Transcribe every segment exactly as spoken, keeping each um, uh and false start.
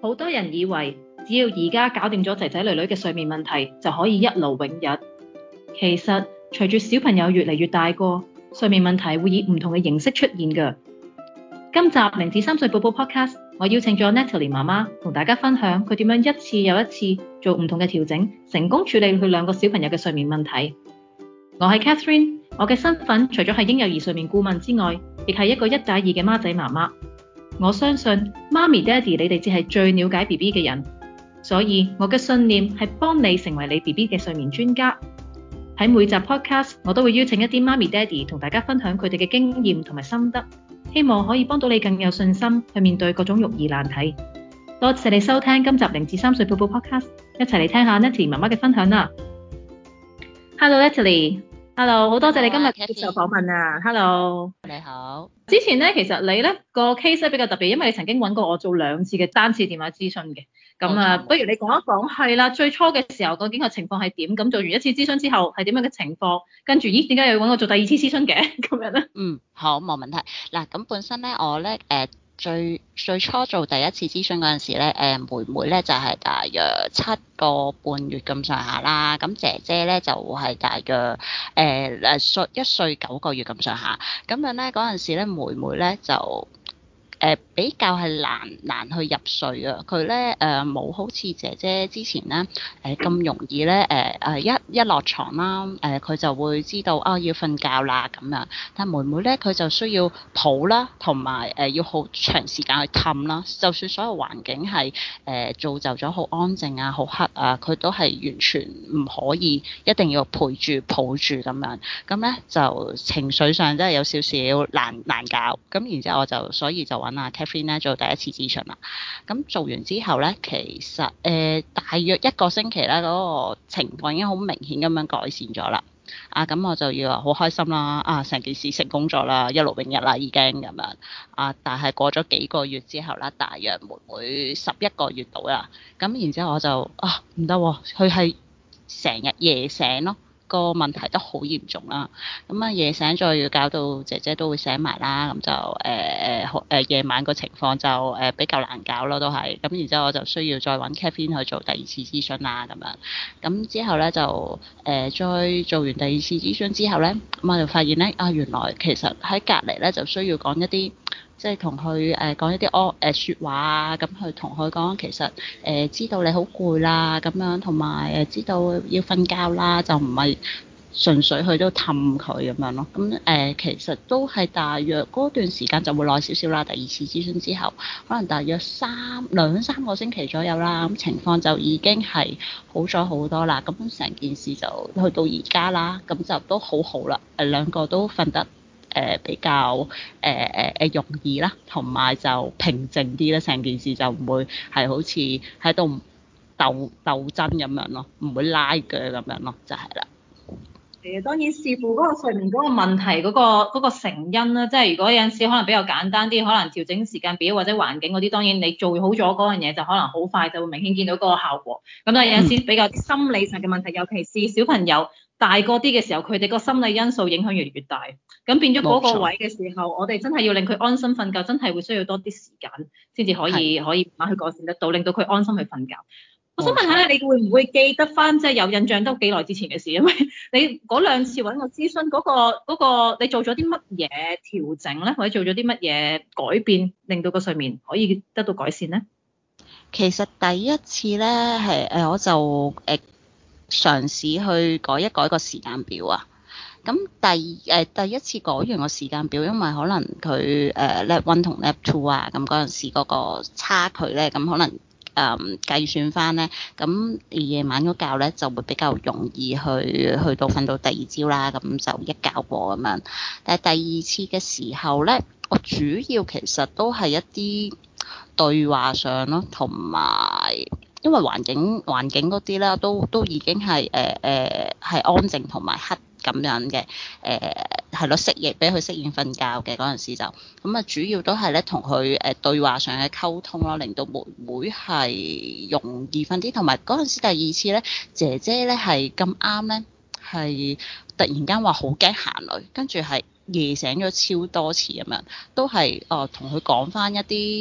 好多人以為只要而家搞掂咗仔仔女女嘅睡眠問題，就可以一勞永逸。其實隨住小朋友越嚟越大個，睡眠問題會以唔同嘅形式出現㗎。今集零至三歲寶寶 Podcast， 我邀請咗 Natalie 媽媽同大家分享佢點樣一次又一次做唔同嘅調整，成功處理佢兩個小朋友嘅睡眠問題。我係 Catherine， 我嘅身份除咗係嬰幼兒睡眠顧問之外，亦係一個一打二嘅孖仔媽媽。我相信媽咪、爹哋，你哋只係最了解 B B 嘅人，所以我嘅信念係幫你成為你 B B 嘅睡眠專家。喺每集 podcast， 我都會邀請一啲媽咪、爹哋同大家分享佢哋嘅經驗同埋心得，希望可以幫到你更有信心去面對各種育兒難題。多謝你收聽今集零至三歲寶寶 podcast， 一齊嚟聽下 Natalie 媽媽嘅分享啦。Hello Natalie，Hello， 好多謝你今日接受訪問啊。Hello， 你好。 之前咧，其實你咧個 case 咧比較特別，因為你曾經揾過我做兩次嘅單次電話諮詢嘅。咁啊，不如你講一講，係啦，最初嘅時候究竟個情況係點？咁做完一次諮詢之後係點樣嘅情況？跟住，咦，點解又要揾我做第二次諮詢嘅？咁樣咧？嗯， 好，冇問題。嗱，咁本身咧，我咧誒。呃最最初做第一次諮詢嗰陣時咧，誒妹妹咧就係、是、大約七個半月咁上下啦，咁姐姐咧就係、是、大約誒誒歲一歲九個月咁上下，咁樣咧嗰陣時咧妹妹咧就誒、呃、比較係難難去入睡啊，佢咧誒冇好似姐姐之前咧誒咁容易咧誒誒一一落床啦，誒、呃、佢就會知道啊、哦、要瞓覺啦咁樣，但妹妹咧佢就需要抱啦，同埋誒要好長時間去氹啦，就算所有環境係誒、呃、造就咗好安靜啊、好黑啊，佢都係完全唔可以一定要陪住抱住咁樣，咁咧就情緒上真係有少少難難搞，咁然之後我就所以就揾阿 Catherine 咧做第一次諮詢啦。咁做完之後咧，其實誒、呃、大約一個星期咧，嗰、那個情況已經好明顯咁樣改善咗啦。啊，咁我就要好開心啦！啊，成件事成功咗啦，一勞永逸啦已經咁樣。啊，但係過咗幾個月之後啦，大約妹妹十一個月到啦。咁然之後我就啊唔得喎，佢係成日夜醒咯。個問題都好嚴重啦，咁啊夜醒再要搞到姐姐都會醒埋啦，咁就誒誒誒夜晚個情況就誒、呃、比較難搞咯，都係咁。然之後我就需要再揾 Catherine 去做第二次諮詢啦，咁樣咁之後咧就誒、呃、再做完第二次諮詢之後咧，咁我就發現咧啊，原來其實喺隔離咧就需要講一啲。即係同佢誒講一啲安誒説話啊，咁去同佢講其實誒、呃、知道你好攰啦，咁樣同埋誒知道要瞓覺啦，就唔係純粹去到氹佢咁樣咯。咁誒、呃、其實都係大約嗰段時間就會耐少少啦。第二次諮詢之後，可能大約三兩三個星期左右啦，咁情況就已經係好咗好多啦。咁成件事就去到而家啦，咁就都好好啦。誒兩個都瞓得。誒、呃、比較誒誒誒容易啦，同埋就平靜啲啦，成件事就唔會係好似喺度鬥鬥爭咁樣咯，唔會拉鋸咁樣咯，就係、是、啦。 誒當然視乎嗰個睡眠嗰個問題嗰、嗰個嗰個成因啦，即係如果有陣時可能比較簡單啲，可能調整時間表或者環境嗰啲，當然你做好咗嗰樣嘢就可能好快就會明顯見到嗰個效果。咁但係有陣時比較心理上嘅問題，尤其是小朋友大個啲嘅時候，佢哋個心理因素影響越嚟越大，咁變咗嗰個位嘅時候，我哋真係要令佢安心瞓覺，真係會需要多啲時間先至可以可以慢慢去改善得到，令到佢安心去瞓覺。我想問下你會唔會記得翻，即係有印象都幾耐之前嘅事？因為你嗰兩次揾我諮詢嗰個嗰個，你做咗啲乜嘢調整咧，或者做咗啲乜嘢改變，令到個睡眠可以得到改善咧？ 其實第一次咧係誒，我就誒、呃、嘗試去改一改個時間表啊。咁第誒、呃、第一次改完個時間表，因為可能佢誒 Lab One 同 Lab Two 啊，咁嗰陣時嗰個差距咧，咁可能。誒、嗯、計算翻咧，咁夜晚嗰覺咧就會比較容易去去到瞓到第二朝啦，咁就一覺過咁樣。但係第二次嘅時候咧，我主要其實都係一啲對話上咯，同埋因為環境環境嗰啲咧都都已經係誒誒係安靜同埋黑。咁樣嘅誒係咯，適應俾佢適應瞓覺嘅嗰陣時就咁啊，主要都係咧同佢誒對話上嘅溝通咯，令到妹妹係容易瞓啲，同埋嗰陣時第二次咧，姐姐咧係咁啱咧係突然間話好驚行雷，跟住係夜醒咗超多次咁樣，都係哦同佢講翻一啲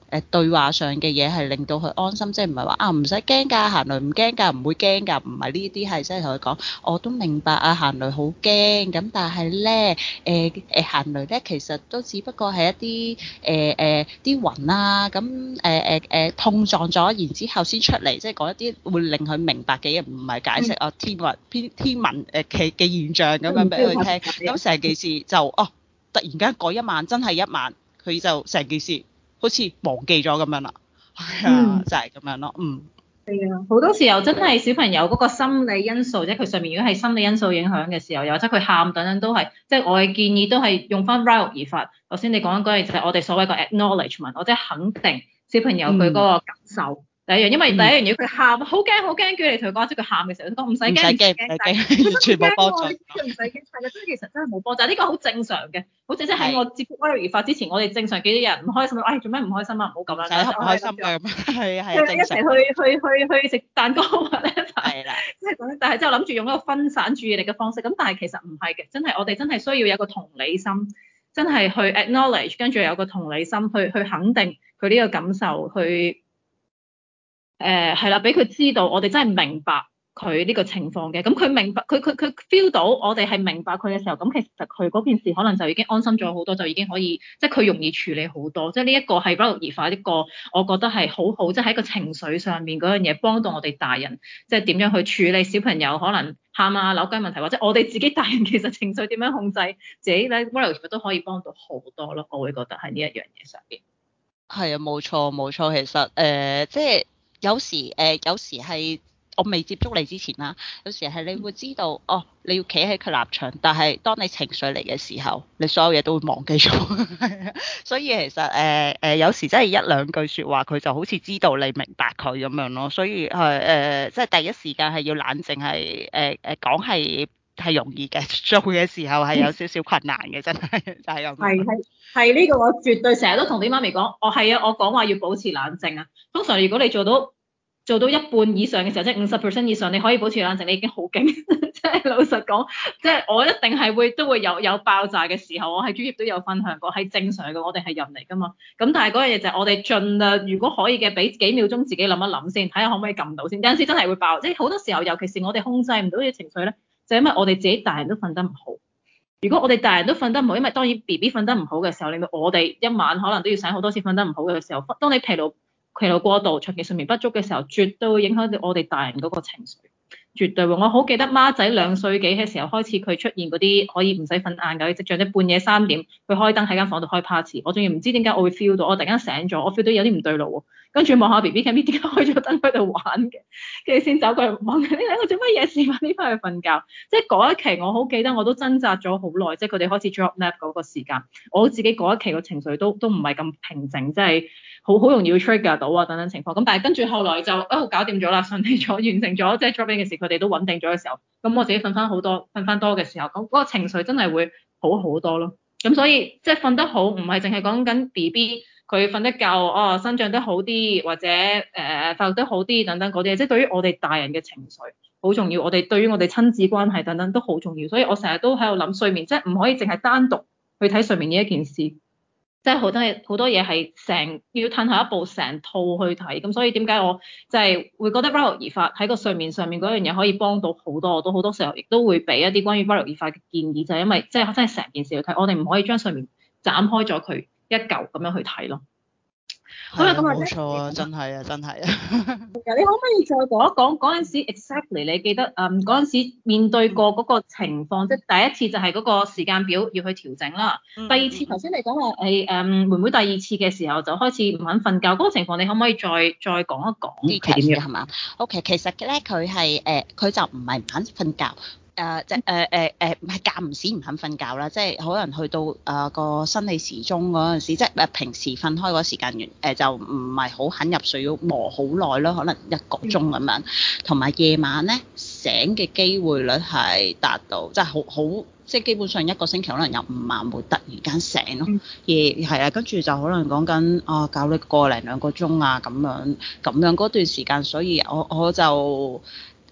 誒對話上嘅嘢係令到佢安心，即係唔係話啊唔使驚㗎，行雷唔驚㗎，唔會驚㗎，唔係呢啲，係即係同佢講，我都明白啊，行雷好驚，咁但係咧誒誒行雷咧其實都只不過係一啲誒誒啲雲啊，咁誒誒誒碰撞咗，然之後先出嚟，即係講一啲會令佢明白嘅嘢，唔係解釋啊天文天天文誒嘅嘅現象咁樣俾佢聽，咁成件事就哦突然間嗰一晚真係一晚，佢就成件事好似忘記咗咁樣啦，係啊，就係咁樣咯，嗯。 係啊，好多時候真係小朋友嗰個心理因素，即係佢上面如果係心理因素影響嘅時候，又或者佢喊等等都係，即係我嘅建議都係用翻 Ryle 法。頭先你講緊嗰樣就係我哋所謂個 acknowledgement，我即係肯定小朋友佢嗰個感受。第一樣，因為第一樣嘢佢喊，好驚好驚，叫你同佢講，即係佢喊嘅時候，佢講唔使驚，唔使驚，完全冇幫助。唔使驚，係啦，即係其實真係冇幫助。呢個好正常嘅，好似即係喺我接觸 Ryle 法之前，我哋正常幾多人唔開心，唉做咩唔開心啊？唔好咁樣， 唔開心嘅，係係一齊去去去去食蛋糕或者係啦， 即係咁，但係之後諗住用一個分散注意力嘅方式，咁但係其實唔係嘅，真係我哋真係需要有一個同理心，真係去 acknowledge，跟住有個同理心去去肯定佢呢個感受，去誒係啦，俾佢知道我哋真係明白佢呢個情況嘅，咁佢明白佢佢佢 feel 到我哋係明白佢嘅時候，咁其實佢嗰件事可能就已經安心咗好多，就已經可以即係佢容易處理好多，即係呢一個係 Ryle 法一個我覺得係好好，即係喺個情緒上面嗰樣嘢幫到我哋大人，即係點樣去處理小朋友可能喊啊扭計問題，或者我哋自己大人其實情緒點樣控制自己咧 Ryle 法都可以幫到好多咯，我會覺得喺呢一樣嘢上邊。 係啊，冇錯冇錯，其實誒、呃、即係有時誒、呃、有時係。我未接觸你之前啦，有時係你會知道，哦，你要企喺佢立場，但係當你情緒嚟嘅時候，你所有嘢都會忘記咗。所以其實誒誒、呃呃，有時真係一兩句説話，佢就好似知道你明白佢咁樣咯。所以係誒、呃，即係第一時間係要冷靜，係誒誒講係係容易嘅，做嘅時候係有少少困難嘅，真係就係咁。 係係係呢個我絕對成日都同啲媽咪講，我係啊，我講話要保持冷靜啊。通常如果你做到做到一半以上嘅時候，即係五十 percent 以上，你可以保持冷靜，你已經好勁。即係老實講，即係我一定係會都會有有爆炸嘅時候，我喺專業都有分享過，係正常嘅，我哋係人嚟㗎嘛。咁但係嗰樣嘢就係我哋盡量，如果可以嘅，俾幾秒鐘自己諗一諗先，睇下可唔可以撳到先。有陣時真係會爆，即係好多時候，尤其是我哋控制唔到嘅情緒咧，就係因為我哋自己大人都瞓得唔好。如果我哋大人都瞓得唔好，因為當然 B B 瞓得唔好嘅時候，令到我哋一晚可能都要醒好多次瞓得唔好嘅時候，當你疲勞疲勞過度、長期睡眠不足嘅時候，絕對會影響到我哋大人嗰個情緒，絕對會。我好記得孖仔兩歲幾嘅時候開始，佢出現嗰啲可以唔使瞓晏覺嘅跡象，即半夜三點佢開燈喺間房度開 party，我仲要唔知點解我會 feel 到，我突然間醒咗，我 feel 到有啲唔對路喎，跟住望下 B B cam 點解開咗燈喺度玩嘅，跟住先走過去望緊，你睇我做乜嘢事？快啲翻去瞓覺。即係嗰一期我好記得，我都掙扎咗好耐，即係佢哋開始 drop nap 嗰個時間，我自己嗰一期個情緒都都唔係咁平靜，即係。好好容易會 trigger 到啊等等情況，咁但係跟住後來就哦搞掂咗啦，順利咗完成咗，即係 drop in 嘅時佢哋都穩定咗嘅時候，咁我自己瞓翻好多，瞓翻多嘅時候，咁嗰個情緒真係會好好多咯。咁所以即係瞓得好，唔係淨係講緊 B B 佢瞓得夠，哦生長得好啲，或者誒、呃、發育得好啲等等嗰啲嘢，即係對於我哋大人嘅情緒好重要，我哋對於我哋親子關係等等都好重要，所以我成日都喺度諗睡眠，即係唔可以淨係單獨去睇睡眠呢一件事。即係好多嘢，好多嘢係成要褪後一步，成套去睇。咁所以點解我就係會覺得 Ryle 法喺個睡眠上面嗰樣嘢可以幫到好多，我都好多時候亦都會俾一啲關於 Ryle 法嘅建議，就係因為即係真係成件事去睇，我哋唔可以將睡眠斬開咗佢一嚿咁樣去睇咯。 好啦，咁冇錯啊，真係啊，真係啊。 你可唔可以再講一講嗰陣時 exactly 你記得誒嗰陣時面對過嗰個情況，即係第一次就係嗰個時間表要去調整啦。嗯、第二次頭先你講話誒誒妹妹第二次嘅時候就開始唔肯瞓覺，嗰、嗰個情況你可唔可以再再講一講係點樣？係嘛 ？OK，其實咧佢係誒佢就唔係唔肯瞓覺。誒即係誒誒誒唔係間唔時唔肯瞓覺啦，即係可能去到誒、呃、個生理時鐘嗰陣時，即係誒平時瞓開嗰時間完誒、呃、就唔係好肯入睡，要磨好耐咯，可能一個鐘咁樣。同埋夜晚咧醒嘅機會率係達到即係好好，即係基本上一個星期可能有五晚會突然間醒咯。夜係啊，跟住就可能講緊啊搞你個零兩個鐘啊咁樣咁樣嗰段時間，所以我我就。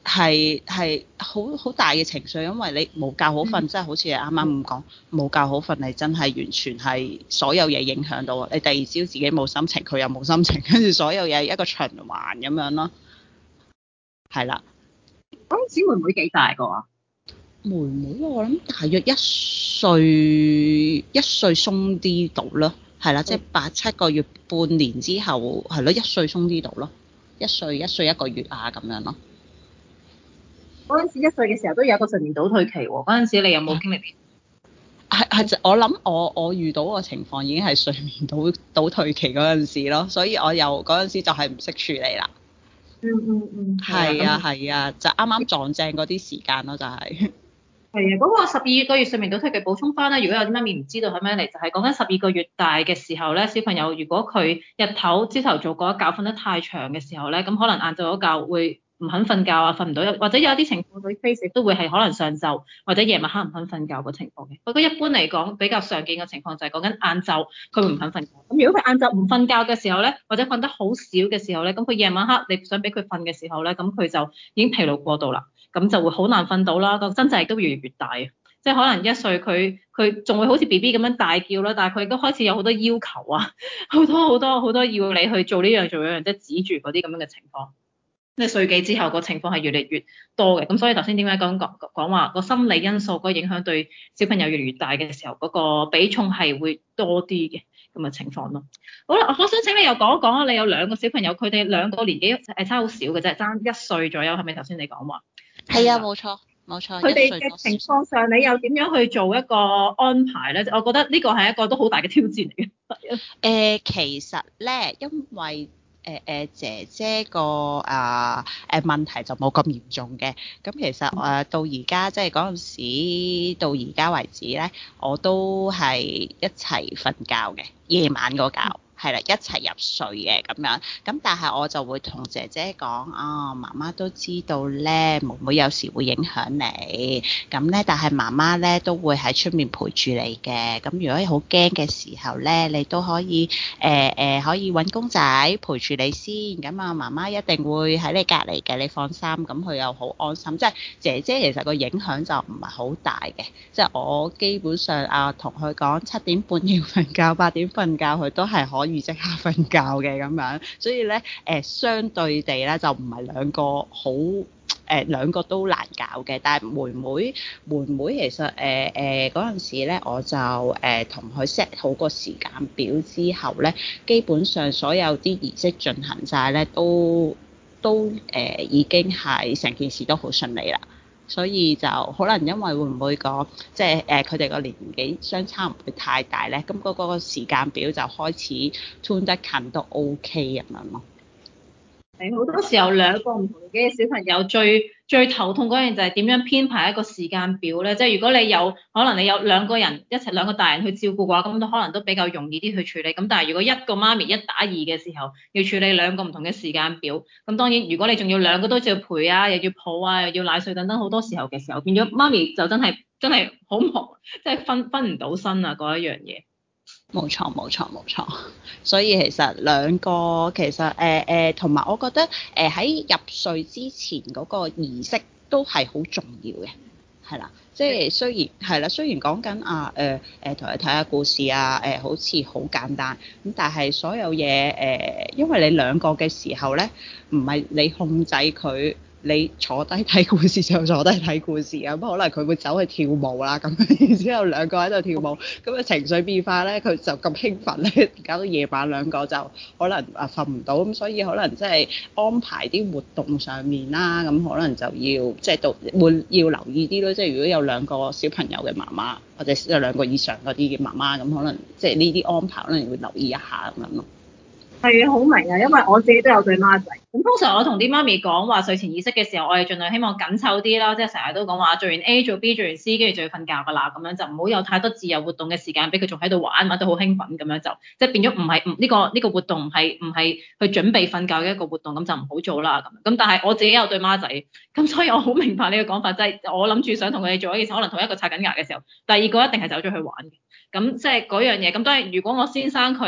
係係好好大嘅情緒，因為你冇覺好瞓，即係、嗯、好似啱啱咁講，冇覺好瞓，你真係完全係所有嘢影響到你。第二朝自己冇心情，佢又冇心情，跟住所有嘢一個循環咁樣咯。係啦。 嗰陣時妹妹幾大個啊？ 妹妹我諗大約一歲一歲鬆啲到咯，係啦，即係八七個月半年之後係咯，一歲鬆啲到咯，一歲一歲一個月啊咁樣咯。 嗰陣時一歲嘅時候都有個睡眠倒退期喎，嗰陣時你有冇經歷？ 係係，我諗我我遇到個情況已經係睡眠倒倒退期嗰陣時咯，所以我又嗰陣時就係唔識處理啦。 嗯嗯嗯， 係啊係啊，就啱啱撞正嗰啲時間咯，就係。係啊，嗰個十二個月睡眠倒退期補充翻咧，如果有啲媽咪唔知道係咩嚟，就係講緊十二個月大嘅時候咧，小朋友如果佢日頭朝頭早嗰一覺瞓得太長嘅時候咧，咁可能晏晝嗰覺會唔肯瞓覺啊，瞓唔到，或者有一啲情況佢 face 都會係可能上晝或者夜晚黑唔肯瞓覺個情況嘅。不過一般嚟講比較常見嘅情況就係講緊晏晝佢會唔肯瞓覺。咁如果佢晏晝唔瞓覺嘅時候咧，或者瞓得好少嘅時候咧，咁佢夜晚黑你想俾佢瞓嘅時候咧，咁佢就已經疲勞過度啦，咁就會好難瞓到啦，個掙扎亦都越嚟越大啊。即係可能一歲佢佢仲會好似 B B 咁樣大叫啦，但係佢都開始有好多要求啊，好多好多好多要你去做呢樣做嗰樣，即係指住嗰啲咁樣嘅情況。即係歲幾之後個情況係越嚟越多嘅，咁所以頭先點解講講講話個心理因素嗰個影響對小朋友越嚟越大嘅時候，嗰個比重係會多啲嘅咁嘅情況咯。好啦，我想請你又講一講啊，你有兩個小朋友，佢哋兩個年紀誒差好少嘅啫，爭一歲左右，係咪頭先你講話？ 係啊，冇錯冇錯。 佢哋嘅情況上，你又點樣去做一個安排咧？我覺得呢個係一個都好大嘅挑戰嚟嘅。誒、 呃，其實咧，因為誒誒、呃、姐姐個啊誒問題就冇咁嚴重嘅，咁其實誒、呃、到而家即係嗰陣時到而家為止咧，我都係一齊瞓覺嘅，夜晚嗰覺。係啦，一齊入睡嘅咁樣，咁但係我就會同姐姐講啊，媽媽都知道咧，妹妹有時會影響你，咁咧，但係媽媽咧都會喺出面陪住你嘅，咁如果你好驚嘅時候咧，你都可以誒誒、呃呃、可以搵公仔陪住你先，咁啊媽媽一定會喺你隔離嘅，你放心，咁佢又好安心。即係姐姐其實個影響就唔係好大嘅，即係我基本上啊同佢講七點半要瞓覺，八點瞓覺，佢都係可以即刻瞓覺嘅咁樣，所以咧誒、呃、相對地咧就唔係兩個好誒、呃、兩個都難搞嘅，但係妹妹妹妹其實誒誒嗰陣時咧我就誒同佢 set 好個時間表之後咧，基本上所有啲儀式進行晒咧都都誒、呃、已經係成件事都好順利啦。所以就可能因為會唔會講，即係誒佢哋個年紀相差唔會太大咧，咁嗰個時間表就開始 tune 得近都 OK 咁樣咯。 係好多時候兩個唔同年紀嘅小朋友最最頭痛嗰樣就係點樣編排一個時間表咧？即係如果你有可能你有兩個人一齊兩個大人去照顧嘅話，咁都可能都比較容易啲去處理。咁但係如果一個媽咪一打二嘅時候，要處理兩個唔同嘅時間表，咁當然如果你仲要兩個都要陪啊，又要抱啊，又要奶睡等等好多時候嘅時候，變咗媽咪就真係真係好忙，即係分分唔到身啊嗰一樣嘢。 冇錯冇錯冇錯，所以其實兩個其實誒誒同埋我覺得誒喺、呃、入睡之前嗰個儀式都係好重要嘅，係啦，即係雖然係啦，雖然講緊啊誒誒同你睇下故事啊誒、呃、好似好簡單咁，但係所有嘢誒、呃，因為你兩個嘅時候咧，唔係你控制佢。你坐低睇故事就坐低睇故事啊，咁可能佢會走去跳舞啦，咁然之後兩個喺度跳舞，咁啊情緒變化咧，佢就咁興奮咧，搞到夜晚兩個就可能啊瞓唔到，咁所以可能即係安排啲活動上面啦，咁可能就要即係到會要留意啲咯，即係如果有兩個小朋友嘅媽媽，或者有兩個以上嗰啲嘅媽媽，咁可能即係呢啲安排可能會留意一下咁樣咯。 係啊，好明啊，因為我自己都有對孖仔。咁通常我同啲媽咪講話睡前儀式嘅時候，我哋盡量希望緊湊啲啦，即係成日都講話做完 A 做 B 做完 C，跟住就要瞓覺㗎啦，咁樣就唔好有太多自由活動嘅時間俾佢仲喺度玩，玩到好興奮咁樣就，即係變咗唔係唔呢個呢個活動唔係唔係去準備瞓覺嘅一個活動，咁就唔好做啦咁。咁但係我自己有對孖仔，咁所以我好明白你嘅講法，即係我諗住想同佢哋做一件事，可能同一個刷緊牙嘅時候，第二個一定係走咗去玩嘅。咁即係嗰樣嘢。咁當然如果我先生佢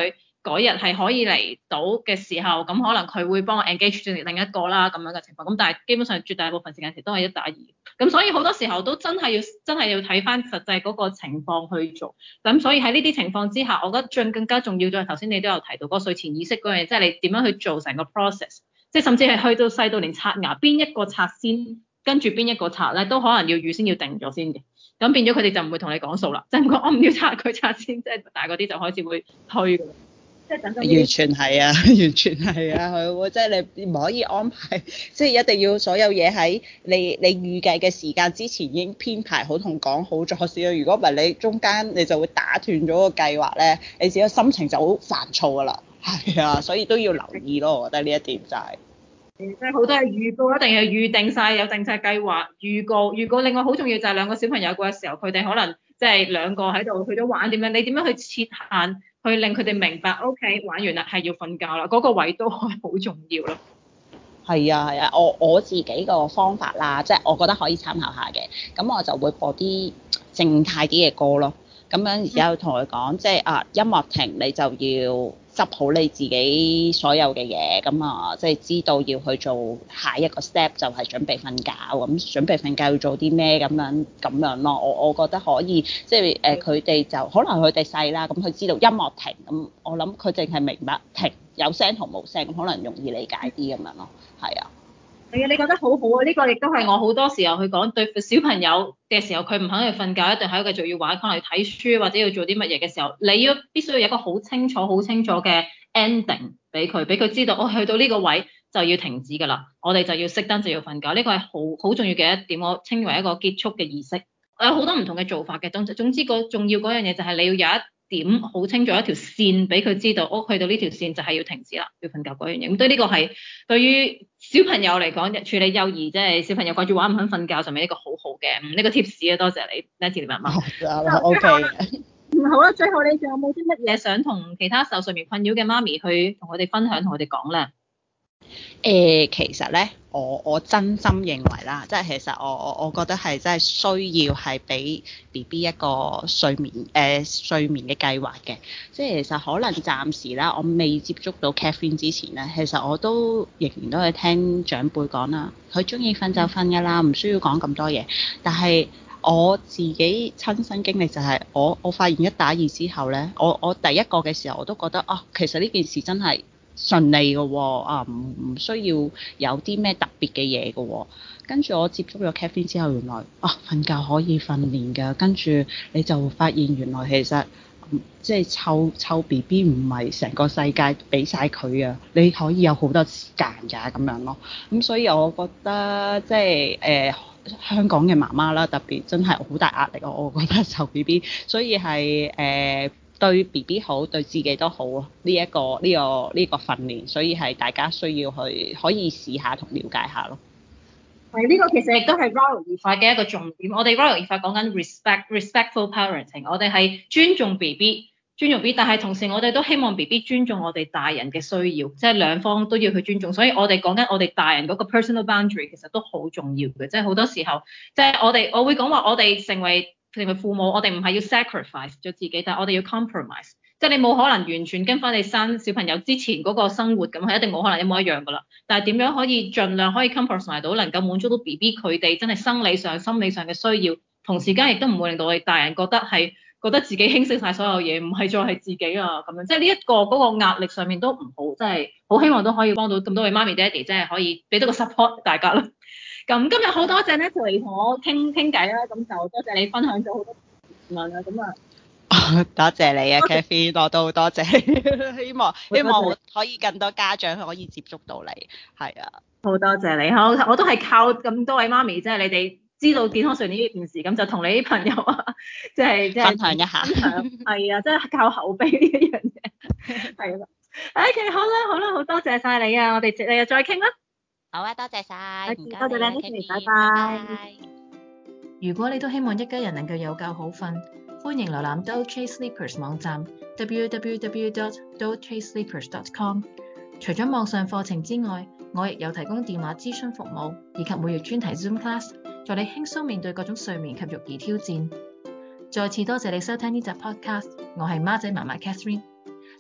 嗰日係可以嚟到嘅時候，咁可能佢會幫我 engage 住另一個啦咁樣嘅情況。咁但係基本上絕大部分時間其實都係一打二。咁所以好多時候都真係要真係要睇翻實際嗰個情況去做。咁所以喺呢啲情況之下，我覺得最更加重要就係頭先你都有提到嗰個睡前意識嗰樣嘢，即係你點樣去做成個 process，即係甚至係去到細到連刷牙邊一個刷先，跟住邊一個刷咧，都可能要預先要定咗先嘅。咁變咗佢哋就唔會同你講數啦，即係講我唔要刷佢刷先，即係大嗰啲就開始會推㗎啦。即係等等完全係啊，完全係啊，佢會即係你唔可以安排，即係一定要所有嘢喺你你預計嘅時間之前已經編排好同講好咗先。如果唔係你中間你就會打斷咗個計劃咧，你自己嘅心情就好煩躁㗎啦。係啊，所以都要留意咯，我覺得呢一點就係、是。 即係好多係預告，一定係預定晒，有定晒計劃。預告預告，另外好重要就係兩個小朋友嗰個時候，佢哋可能即係兩個喺度去咗玩點樣，你點樣去設限，去令佢哋明白 ，OK 玩完啦係要瞓覺啦，嗰、那個位都係好重要咯。 係啊係啊，我我自己個方法啦，即係我覺得可以參考下嘅，咁我就會播啲靜態啲嘅歌咯。咁樣而家同佢講，即係啊音樂停，你就要執好你自己所有嘅嘢，咁啊即係知道要去做下一個 step 就係準備瞓覺，咁準備瞓覺要做啲咩咁樣咁樣咯。我我覺得可以，即係誒佢哋就可能佢哋細啦，咁佢知道音樂停，咁我諗佢淨係明白停有聲同冇聲，咁可能容易理解啲咁樣咯。係啊。 係啊，你覺得好好啊！呢、這個亦都係我好多時候去講，對小朋友嘅時候，佢唔肯去瞓覺，一定喺度繼續要玩，可能要睇書或者要做啲乜嘢嘅時候，你要必須要有一個好清楚、好清楚嘅 ending 俾佢，俾佢知道，我、哦、去到呢個位就要停止㗎啦，我哋就要熄燈就要瞓覺。呢、這個係好好重要嘅一點，我稱為一個結束嘅儀式。有好多唔同嘅做法嘅，總總之個重要嗰樣嘢就係你要有一點好清楚一條線俾佢知道，哦，去到呢條線就係要停止啦，要瞓覺嗰樣嘢。咁對呢個係對於小朋友嚟講，處理幼兒即係小朋友掛住玩唔肯瞓覺，上面一個好好嘅呢、這個 tips 啊，多謝你 Nancy 媽媽。 O K。 好啦，最後你仲有冇啲乜嘢想同其他受睡眠困擾嘅媽咪去同佢哋分享，同佢哋講咧？ 誒、呃，其實咧，我我真心認為啦，即係其實我我我覺得係真係需要係俾 B B 一個睡眠誒、呃、睡眠嘅計劃嘅。即係其實可能暫時啦，我未接觸到 caffeine 之前咧，其實我都仍然都係聽長輩講啦，佢中意瞓就瞓㗎啦，唔需要講咁多嘢。但係我自己親身經歷就係、是、我我發現一打二之後咧，我我第一個嘅時候我都覺得啊，其實呢件事真係順利嘅喎，啊唔唔需要有啲咩特別嘅嘢嘅喎。跟住我接觸咗 caffeine 之後，原來啊瞓覺可以訓練㗎。跟住你就發現原來其實、嗯、即係湊湊 B B 唔係成個世界俾晒佢啊，你可以有好多時間㗎咁樣咯。咁所以我覺得即係誒、呃、香港嘅媽媽啦，特別真係好大壓力啊！我覺得湊 B B，所以係誒。呃對 B B 好，對自己都好啊！呢、這、一個呢、這個呢、這個訓練，所以係大家需要去可以試下同了解下咯。 係呢、這個其實亦都係 Royal 兒法嘅一個重點。我哋 Royal 兒法講緊 respect respectful parenting，我哋係尊重 B B， 尊重 B B，但係同時我哋都希望 B B 尊重我哋大人嘅需要，即係兩方都要去尊重。所以我哋講緊我哋大人嗰個 personal boundary 其實都好重要嘅，即係好多時候，即係我哋我會講話我哋成為。成為父母，我哋唔係要 sacrifice 咗自己，但係我哋要 compromise，即係你冇可能完全跟翻你生小朋友之前嗰個生活咁，係一定冇可能一模一樣噶啦。但係點樣可以盡量可以 compromise 到，能夠滿足到 B B 佢哋真係生理上、心理上嘅需要，同時間亦都唔會令到我哋大人覺得係覺得自己輕視晒所有嘢，唔係再係自己啊咁樣。即係呢一個嗰個壓力上面都唔好，即係好希望都可以幫到咁多位媽咪爹哋，即係可以俾到個 support 大家啦。咁今日好多謝 Natalie 同我傾傾偈啦，咁就多謝你分享咗好多問啊，咁啊， 多謝你啊 Kathy 我都好多謝，希望希望可以更多家長可以接觸到你，係啊， 好多謝你，好，我都係靠咁多位媽咪，即係你哋知道健康睡眠呢件事，咁就同你啲朋友啊，即係即係分享一下， 係啊，即係靠口碑呢一樣嘢，係啦，OK，好啦好啦，好多謝晒你啊，我哋第日再傾啦。 好啊，多謝晒，唔該多謝你 Kathy， 拜拜。如果你都希望一家人能夠有覺好瞓，歡迎瀏覽 Doze Sleepers 網站 double-u double-u double-u dot doze sleepers dot com。除咗網上課程之外，我亦有提供電話諮詢服務，以及每月專題 Zoom class，助你輕鬆面對各種睡眠及育兒挑戰。再次多謝你收聽呢集 podcast，我係孖仔媽媽 Catherine。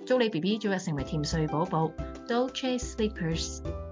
祝你 B B 早日成為甜睡寶寶 ，Dolce Sleepers。